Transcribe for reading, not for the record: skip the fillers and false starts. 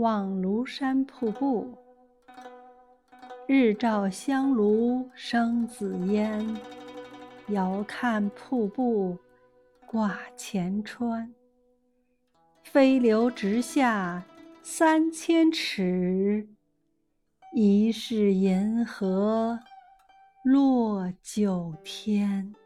望庐山瀑布。日照香炉生紫烟，遥看瀑布挂前川。飞流直下3000尺，疑是银河落九天。